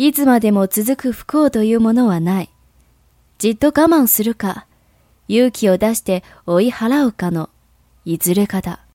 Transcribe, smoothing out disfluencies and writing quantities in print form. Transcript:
いつまでも続く不幸というものはない。じっと我慢するか、勇気を出して追い払うかのいずれかだ。